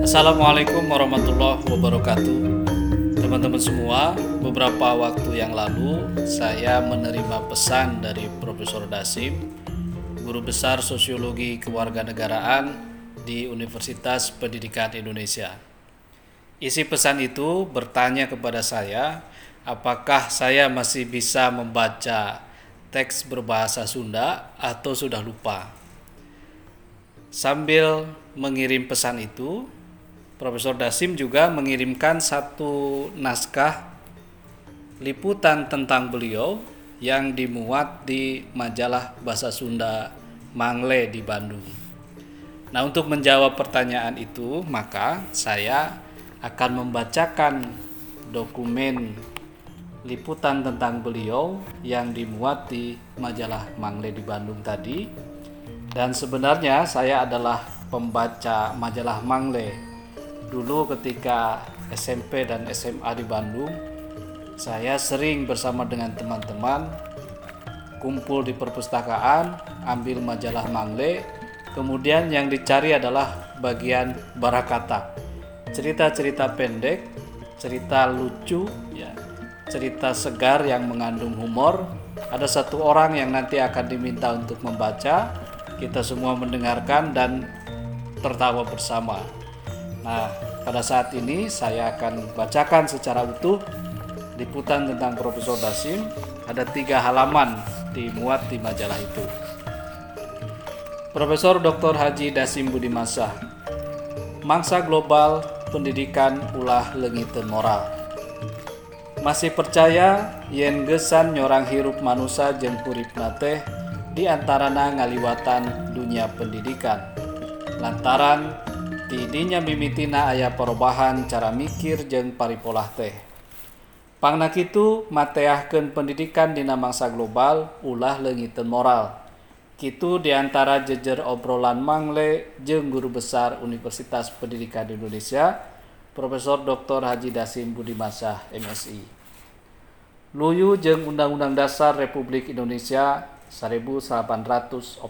Assalamualaikum warahmatullahi wabarakatuh. Teman-teman semua, beberapa waktu yang lalu saya menerima pesan dari Profesor Dasim, Guru Besar Sosiologi Kewarganegaraan di Universitas Pendidikan Indonesia. Isi pesan itu bertanya kepada saya, apakah saya masih bisa membaca teks berbahasa Sunda atau sudah lupa. Sambil mengirim pesan itu, Profesor Dasim juga mengirimkan satu naskah liputan tentang beliau yang dimuat di majalah Bahasa Sunda Mangle di Bandung. Nah, untuk menjawab pertanyaan itu, maka saya akan membacakan dokumen liputan tentang beliau yang dimuat di majalah Mangle di Bandung tadi. Dan sebenarnya saya adalah pembaca majalah Mangle. Dulu ketika SMP dan SMA di Bandung, saya sering bersama dengan teman-teman kumpul di perpustakaan, ambil majalah Mangle. Kemudian yang dicari adalah bagian barakata, cerita-cerita pendek, cerita lucu, cerita segar yang mengandung humor. Ada satu orang yang nanti akan diminta untuk membaca, kita semua mendengarkan dan tertawa bersama. Nah, pada saat ini saya akan bacakan secara utuh liputan tentang Profesor Dasim. Ada 3 halaman dimuat di majalah itu. Profesor Dr. Haji Dasim Budimansah, Mangsa Global Pendidikan Ulah Leungiteun Moral. Masih percaya yen gesan nyorang hirup manusia jeung uripna teh di antarana ngaliwatan dunia pendidikan. Lantaran tidinya mimitina aya perubahan cara mikir jeung paripolah teh. Pangna kitu mateahkeun pendidikan dina mangsa global ulah leungiteun moral. Kitu diantara jejer obrolan Mangle jeung Guru Besar Universitas Pendidikan Indonesia, Profesor Dr. Haji Dasim Budimansah MSI. Luyu jeung Undang-Undang Dasar Republik Indonesia 1845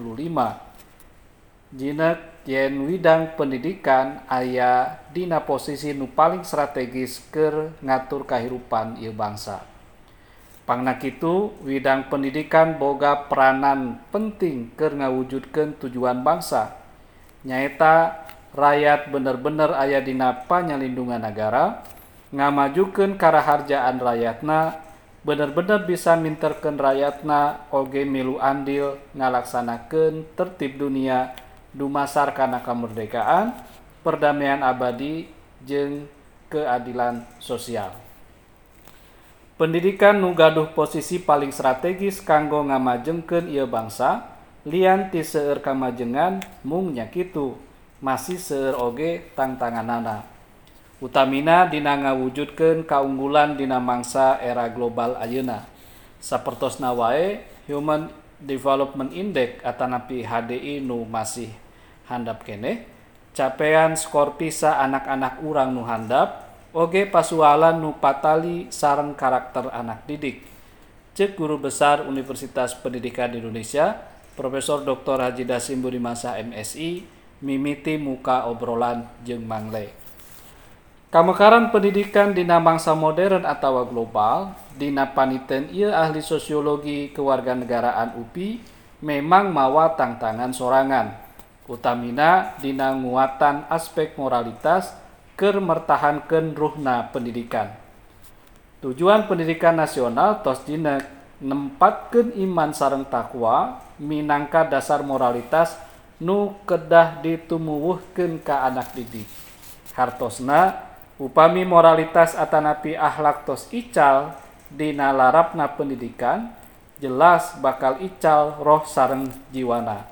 jineuk yen widang pendidikan aya dina posisi nu paling strategis keur ngatur kahirupan ieu bangsa. Pangna kitu, widang pendidikan boga peranan penting keur ngawujudkeun tujuan bangsa. Nyaeta rakyat bener-bener aya dina panyalindungan negara, ngamajukeun karaharjaan rakyatna, bener-bener bisa minterkeun rakyatna oge milu andil ngalaksanakeun tertib dunia dumasar kana kamerdekaan, perdamaian abadi, jeung keadilan sosial. Pendidikan nu gaduh posisi paling strategis kanggo ngamajengkeun ieu bangsa, lian ti seueur kamajengan mung nya kitu, masih seueur oge tantanganana. Utamina dina ngawujudkeun kaunggulan dina mangsa era global ayeuna. Sapertosna wae Human Development Index atanapi HDI nu masih handap keneh, capaian skor PISA anak-anak urang nu handap, oge pasualan nu patali sareng karakter anak didik. Ceuk Guru Besar Universitas Pendidikan Indonesia, Profesor Dr. Haji Dasim Budimansah MSI, mimiti muka obrolan jeung Mangle. Kamekaran pendidikan dina mangsa modern atawa global, dina paniteun ieu ahli sosiologi kewarganegaraan UPI memang mawa tantangan sorangan. Utamina dina nguatan aspek moralitas keur mertahankeun ruhna pendidikan. Tujuan pendidikan nasional tos dina nempatkeun iman sareng takwa minangka dasar moralitas nu kedah ditumuwuhkeun ka anak didik. Hartosna upami moralitas atanapi akhlak tos ical dina larapna pendidikan, jelas bakal ical roh sareng jiwana.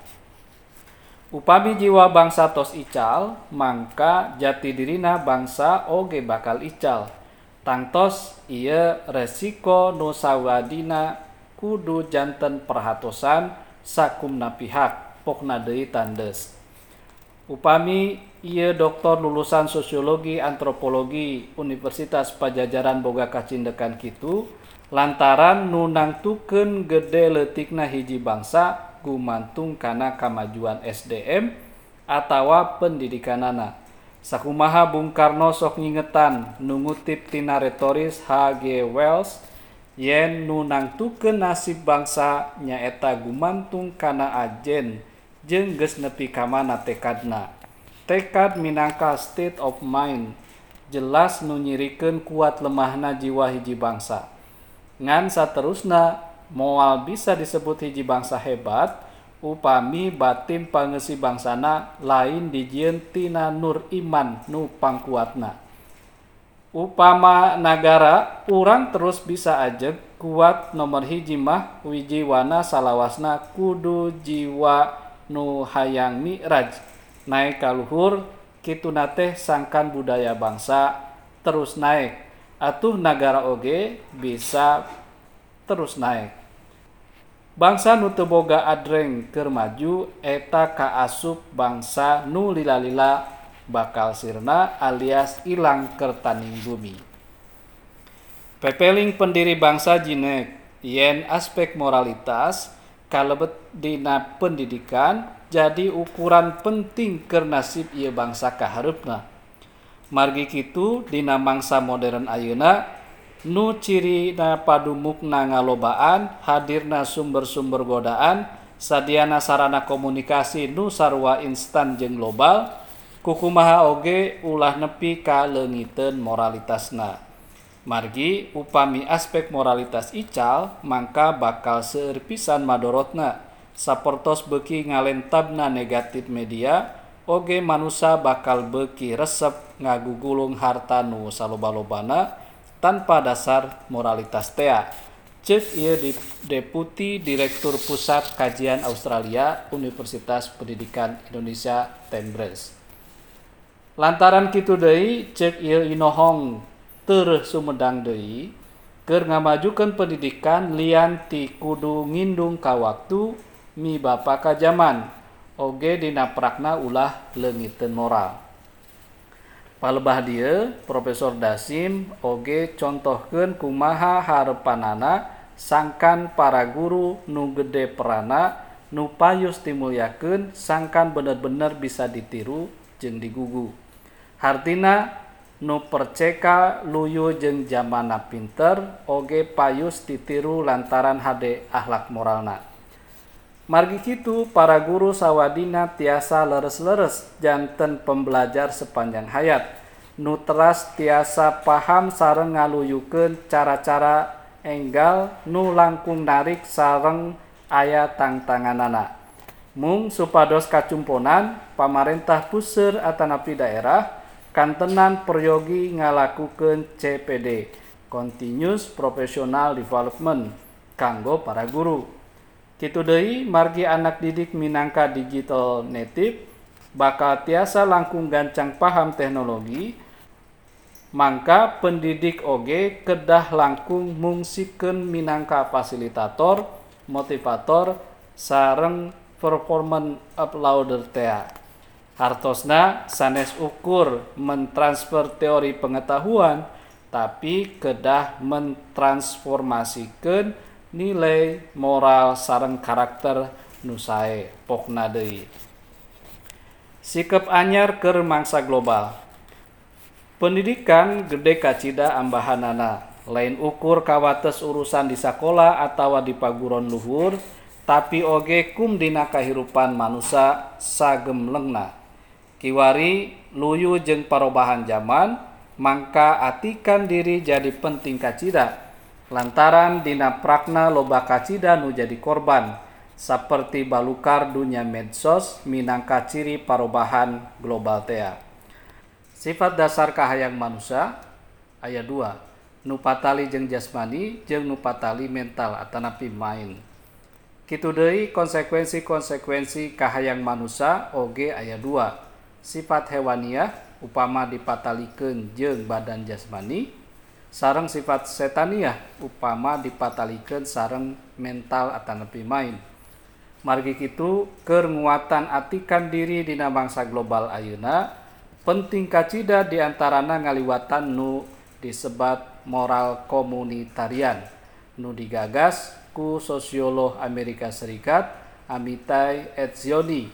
Upami jiwa bangsa tos ical, mangka jati dirina bangsa oge bakal ical. Tangtos ieu resiko nu sawadina kudu janten perhatosan sakumna pihak, pokna deui tandeus. Upami ieu doktor lulusan sosiologi antropologi Universitas Pajajaran boga kacindekan kitu, lantaran nu nangtukeun gede leutikna hiji bangsa gumantung kana kamajuan SDM atawa pendidikanana. Sakumaha Bung Karno sok ngingetan nu ngutip tina retoris H.G. Wells yen nu nangtukeun nasib bangsa nyaeta gumantung kana ajen jeung geus nepi ka mana tekadna. Tekad minangka state of mind jelas nu nyirikeun kuat lemahna jiwa hiji bangsa. Ngan saterusna moal bisa disebut hiji bangsa hebat upami batin pangeusi bangsana lain dijieun tina nur iman nu pangkuatna. Upama nagara urang terus bisa ajeg kuat nomor hiji mah wijiwana salawasna kudu jiwa nu hayang mi'raj naik ka luhur kituna teh sangkan budaya bangsa terus naik atuh nagara oge bisa terus naik. Bangsa nu teu boga adreng keur maju eta kaasup bangsa nu lila-lila bakal sirna alias ilang keur taning bumi. Pepeling pendiri bangsa jinek yen aspek moralitas kalebet dina pendidikan jadi ukuran penting keur nasib ieu bangsa kahareupna. Margi kitu dina mangsa modern ayeuna nu cirina padumukna ngalobaan, hadirna sumber-sumber godaan, sadiana sarana komunikasi nu sarua instan jeung global, kukumaha oge ulah nepi ka leungiteun moralitasna. Margi upami aspek moralitas ical, mangka bakal seueur pisan madorotna. Sapertos beuki ngalentabna negatif media, oge manusia bakal beuki resep ngagugulung harta nu saloba-lobana tanpa dasar moralitas tea. Ceuk ieu Deputi Direktur Pusat Kajian Australia Universitas Pendidikan Indonesia Tembres. Lantaran kitu deui ceuk ieu inohong teu sumedang deui keur ngamajukeun pendidikan lian ti kudu ngindung ka waktu mibapa ka zaman oge dina prakna ulah leungiteun moral. Palebah dieu Profesor Dasim oge contohkeun kumaha harepanana sangkan para guru nu gede perana nu payus dimulyakeun sangkan bener-bener bisa ditiru jeung digugu. Hartina nu perceka luyu jeung zamanna pinter oge payus ditiru lantaran hade akhlak moralna. Margi kitu para guru sawadina tiasa leres-leres janten pembelajar sepanjang hayat nu teras tiasa paham sareng ngaluyukeun cara-cara enggal nu langkung narik sareng aya tangtanganana. Mung supados kacumponan pamarentah puseur atanapi daerah kantenan peryogi ngalakukeun CPD Continuous Professional Development kanggo para guru. Kitu deui margi anak didik minangka digital native bakal tiasa langkung gancang paham teknologi, mangka pendidik oge kedah langkung mungsikeun minangka fasilitator, motivator, sareng performance uploader tea. Hartosna sanes ukur mentransfer teori pengetahuan, tapi kedah mentransformasikeun nilai moral sareng karakter nu sae pokna deui. Sikep anyar keur mangsa global. Pendidikan gede kacida ambahanana, lain ukur kawates urusan di sakola atawa di paguron luhur, tapi oge kum dina kahirupan manusia sagemlengna. Kiwari luyu jeung parobahan zaman, mangka atikan diri jadi penting kacida. Lantaran dina prakna loba kacida nu jadi korban, saperti balukar dunia medsos minangka ciri parobahan global tea. Sifat dasar kahayang manusia aya 2, nu patali jeung jasmani jeung nu patali mental atanapi mind. Kitu deui konsekuensi-konsekuensi kahayang manusia oge aya 2, sifat hewaniah upama dipatalikeun jeung badan jasmani, sareng sifat setaniah upama dipatalikeun sareng mental atanapi mind. Margi kitu keur nguatan atikan diri dina bangsa global ayeuna penting kacida diantarana ngaliwatan nu disebat moral komunitarian nu digagas ku sosiolog Amerika Serikat Amitai Etzioni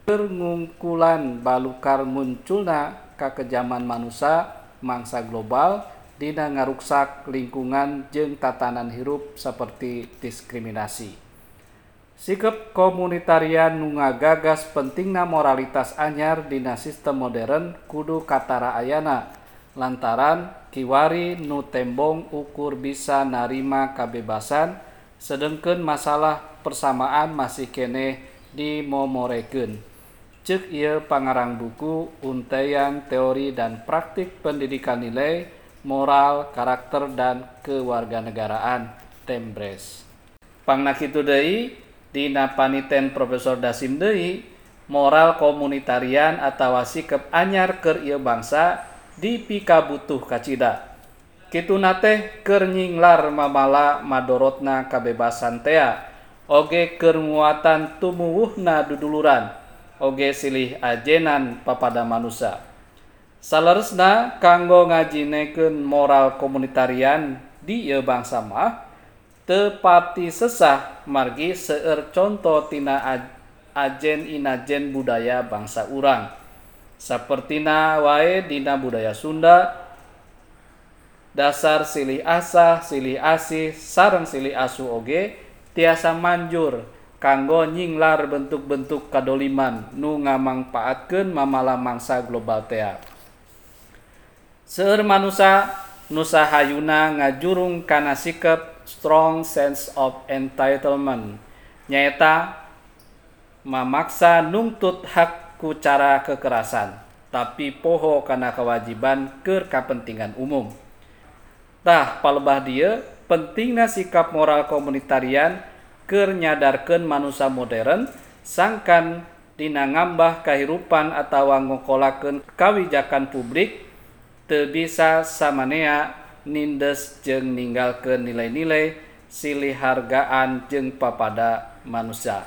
keur ngungkulan balukar munculna kakejaman manusia mangsa global dina ngaruksak lingkungan jeung tatanan hirup saperti diskriminasi. Sikap komunitarian nu ngagagas pentingna moralitas anyar dina sistem modern kudu katara ayana lantaran kiwari nu tembong ukur bisa narima kabebasan sedengkeun masalah persamaan masih keneh dimomorekeun. Ceuk ieu pangarang buku Untaian Teori dan Praktik Pendidikan Nilai, Moral, Karakter, dan Kewarganegaraan Tembres. Pangna kitu deui dina paniten Profesor Dasim deui moral komunitarian atawa sikap anyar keur ieu bangsa dipikabutuh kacida. Kituna teh keur nyinglar mamala madorotna kabebasan tea oge keur nguatan tumuwuhna duduluran oge silih ajenan papada manusia. Saleresna kanggo ngajinekeun moral komunitarian di ieu bangsa mah teu pati sesah margi seueur conto tina ajen inajen budaya bangsa urang. Sapertina wae dina budaya Sunda dasar silih asah, silih asih, sareng silih asuh oge tiasa manjur kanggo nyinglar bentuk-bentuk kadoliman nu ngamangpaatkeun mamala mangsa global tea. Seueur manusia nu sahayuna ngajurung kana sikap strong sense of entitlement nyaeta mamaksa nungtut hak ku cara kekerasan tapi poho kana kewajiban keur kapentingan umum. Tah palebah dieu pentingna sikap moral komunitarian keur nyadarkeun manusia modern sangkan dina ngambah kahirupan atawa ngokolakeun kawijakan publik teu bisa samanea nindes jeung ninggalkeun nilai-nilai silih hargaan jeung papada manusia.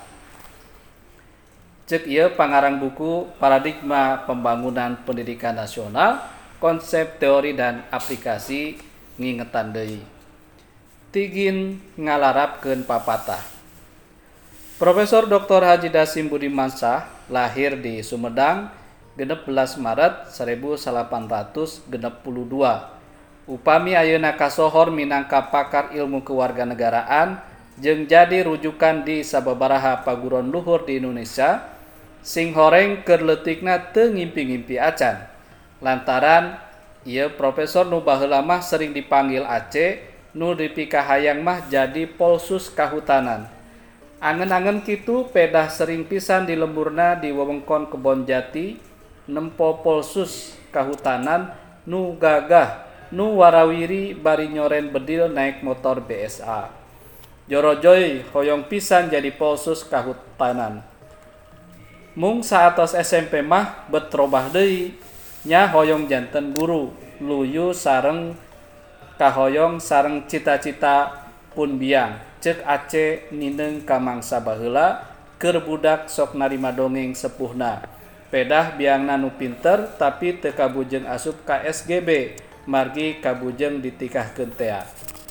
Ceuk ieu pangarang buku Paradigma Pembangunan Pendidikan Nasional, Konsep Teori dan Aplikasi ngingetan deui. Tigin ngalarapkeun papatah. Profesor Dr. Haji Dasim Budimansyah lahir di Sumedang 16 Maret 1862. Upami ayeuna kasohor minangka pakar ilmu kewarganegaraan jeung jadi rujukan di sababaraha paguron luhur di Indonesia, sing horeng keur leutikna teu ngimpi-ngimpi acan. Lantaran ieu profesor nu baheula mah sering dipanggil Aceh, nu dipikahayang mah jadi polsus kahutanan. Angen-angen kitu pedah sering pisan di lemburna di wewengkon Kebon Jati nempo polsus kahutanan nu gagah nu warawiri bari nyoren bedil naik motor BSA. Jorojoy hoyong pisan jadi polsus kahutanan. Mung saatos SMP mah betrobah deui nya hoyong janten guru luyu sareng kahoyong sareng cita-cita pun biang. Ceuk Aceh nineng ka mangsa baheula keur budak sok narima dongeng sepuhna. Pedah biangna nu pinter tapi teu kabujeng asup ka SGB margi kabujeng ditikahkeun tea.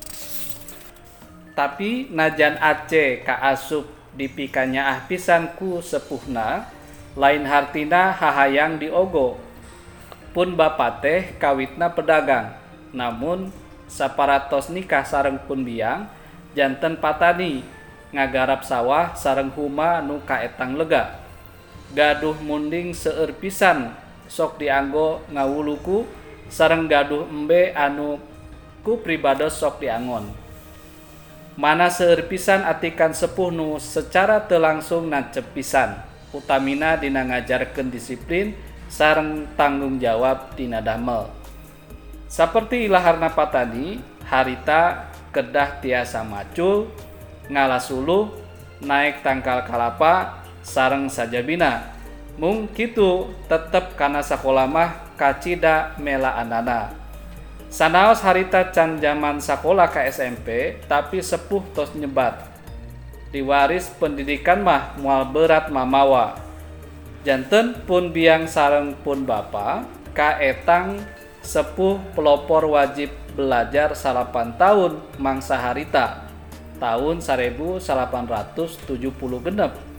Tapi najan Aceh kaasup dipikanyaah pisan ku sepuhna, lain hartina hahayang diogo. Pun bapa teh kawitna pedagang, namun saparatos nikah sareng pun biang janten patani ngagarap sawah sareng huma nu kaetang lega. Gaduh munding seueur pisan sok dianggo ngawuluku sareng gaduh embe anu ku pribados sok diangon. Mana seueur pisan atikan sepuh nu secara teu langsung nancep pisan, utamina dina ngajarkeun disiplin sareng tanggung jawab dina damel. Saperti ilaharna patani, harita kedah tiasa macul, ngalasuluh, naik tangkal kalapa, sareng sajabina. Mung kitu tetep kana sakola mah kacida mela andana. Sanaos harita can jaman sakola ka SMP, tapi sepuh tos nyebat. Diwaris pendidikan mah moal berat mamawa. Janten pun biang sareng pun bapa, kaetang sepuh pelopor wajib belajar 8 tahun mangsa harita tahun 1870 genep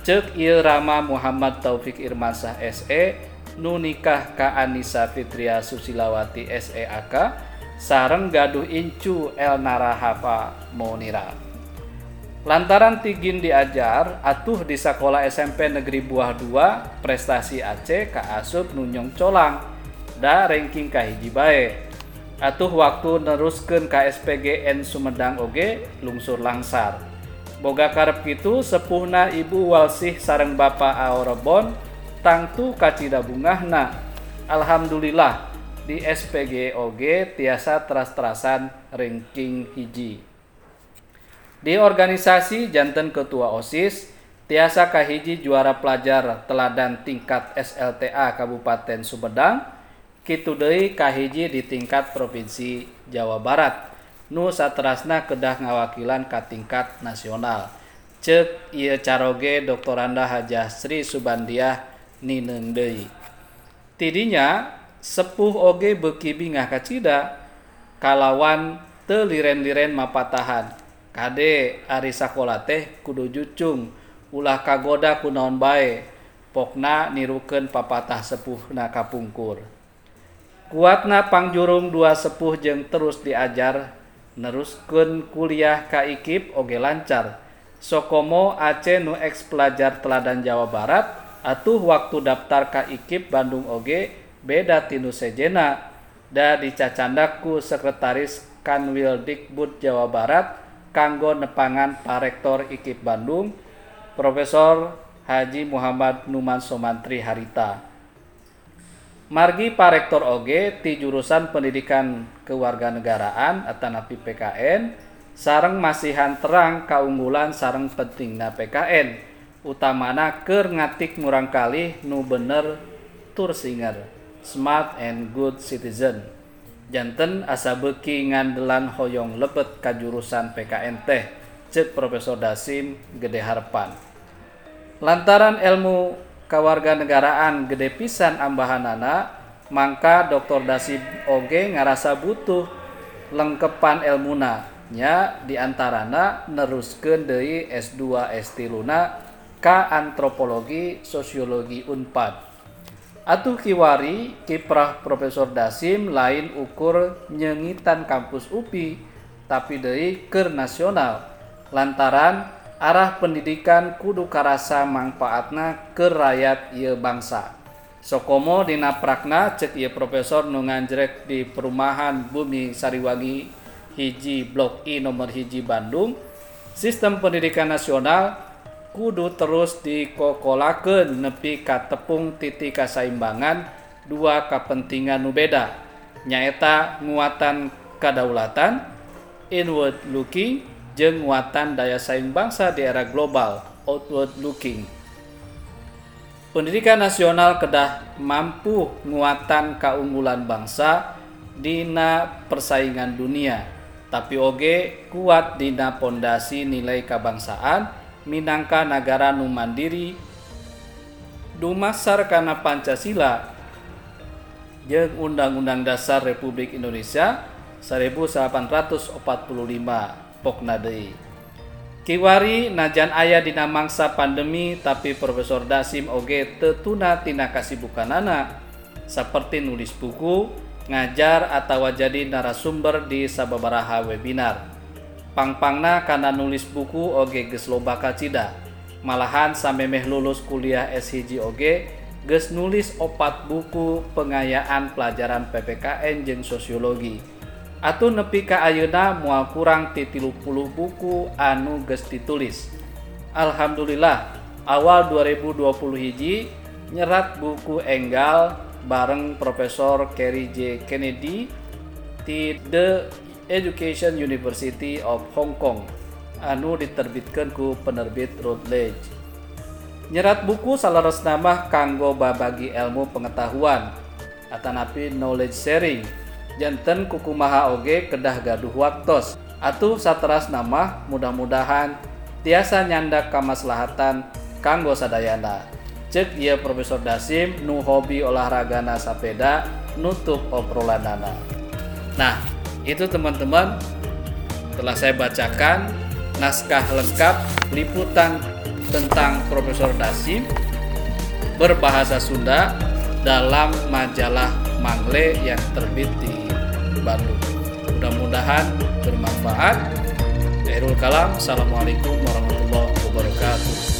Cek ieu Rama Muhammad Taufik Irmansah SE nu nikah ka Anissa Fitria Susilawati SEAK sareng gaduh incu Elnara Hafa Monira. Lantaran tigin diajar atuh di sekolah SMP Negeri Buah 2 prestasi Aceh ka asup nunyong colang da ranking kahiji bae. Atuh waktu neruskeun ka SPGN Sumedang oge lungsur langsar. Boga karep kitu sepuhna Ibu Walsih sareng Bapa Aorebon tangtu kacida bungahna. Alhamdulillah di SPG oge tiasa teras-terasan ranking hiji. Di organisasi janten ketua OSIS tiasa kahiji juara pelajar teladan tingkat SLTA Kabupaten Sumedang, kitu deui kahiji di tingkat Provinsi Jawa Barat. Nu saterasna kedah ngawakilan ka tingkat nasional. Ceuk ieu caroge Doktoranda Hajah Sri Subandiah nineung deui. Tidinya sepuh oge beuki bingah kacida kalawan teu liren-liren mapatahan. Kade ari sakola teh kudu jucung ulah kagoda ku naon bae pokna nirukeun papatah sepuhna kapungkur. Kuatna pangjurung dua sepuh jeung terus diajar neruskeun kuliah ka IKIP oge lancar. Sokomo Aceh nu eks pelajar teladan Jawa Barat atuh waktu daftar ka IKIP Bandung oge beda tinu sejena da dicacandak ku Sekretaris Kanwil Dikbud Jawa Barat kanggo nepangan Parektor IKIP Bandung Profesor Haji Muhammad Numan Somantri Harita. Margi Parektor oge ti jurusan Pendidikan Kewarganegaraan atanapi PKN sareng masihan terang kaunggulan sareng pentingna PKN utamana keur ngatik murangkalih nu bener tursinger smart and good citizen. Janten asa beuki ngandelan hoyong lebet ka jurusan PKN teh, ceuk Profesor Dasim gede harepan. Lantaran ilmu kawarganegaraan gede pisan ambahanana, mangka Dr. Dasim oge ngarasa butuh lengkepan ilmuna nya diantarana neruskeun deui S2 S3 ka antropologi sosiologi Unpad. Atuh kiwari kiprah Profesor Dasim lain ukur nyengitan kampus UPI tapi deui keur nasional lantaran arah pendidikan kudu karasa mangpaatna keur rakyat ieu bangsa. Sokomo dina prakna ceuk ieu profesor nu nganjrek di Perumahan Bumi Sariwangi hiji Blok I nomor 1 Bandung, sistem pendidikan nasional kudu terus dikokolakeun nepi ka tepung titik kasaimbangan dua kapentingan nu beda nyaeta nguatan kadaulatan inward looking jeung nguatan daya saing bangsa di era global outward looking. Pendidikan nasional kedah mampu nguatan kaunggulan bangsa dina persaingan dunia tapi oge kuat dina pondasi nilai kabangsaan minangka nagara nu mandiri dumasar kana Pancasila jeung Undang-Undang Dasar Republik Indonesia 1845 pokna deui. Kiwari najan aya dina mangsa pandemi tapi Profesor Dasim oge teu tuna tina kasibukanana saperti nulis buku, ngajar atawa jadi narasumber di sababaraha webinar. Pangpangna kana nulis buku oge geus loba kacida. Malahan samemeh lulus kuliah S1 oge geus nulis 4 buku pengayaan pelajaran PPKN jeung sosiologi. Atuh nepi ka ayeuna moal kurang ti 30 buku anu geus ditulis. Alhamdulillah awal 2021 nyerat buku enggal bareng Profesor Kerry J. Kennedy di The Education University of Hong Kong anu diterbitkeun ku penerbit Routledge. Nyerat buku salaresna mah kanggo babagi ilmu pengetahuan atanapi knowledge sharing janten kukumaha oge kedah gaduh waktos atuh saterasna mah mudah-mudahan tiasa nyandak kamaslahatan kanggo sadayana. Ceuk ieu Profesor Dasim nu hobi olahragana sapeda nutup obrolanana. Nah, itu teman-teman telah saya bacakan naskah lengkap liputan tentang Profesor Dasim berbahasa Sunda dalam majalah Mangle yang terbit di Bandung. Mudah-mudahan bermanfaat. Khairul kalam. Assalamualaikum warahmatullahi wabarakatuh.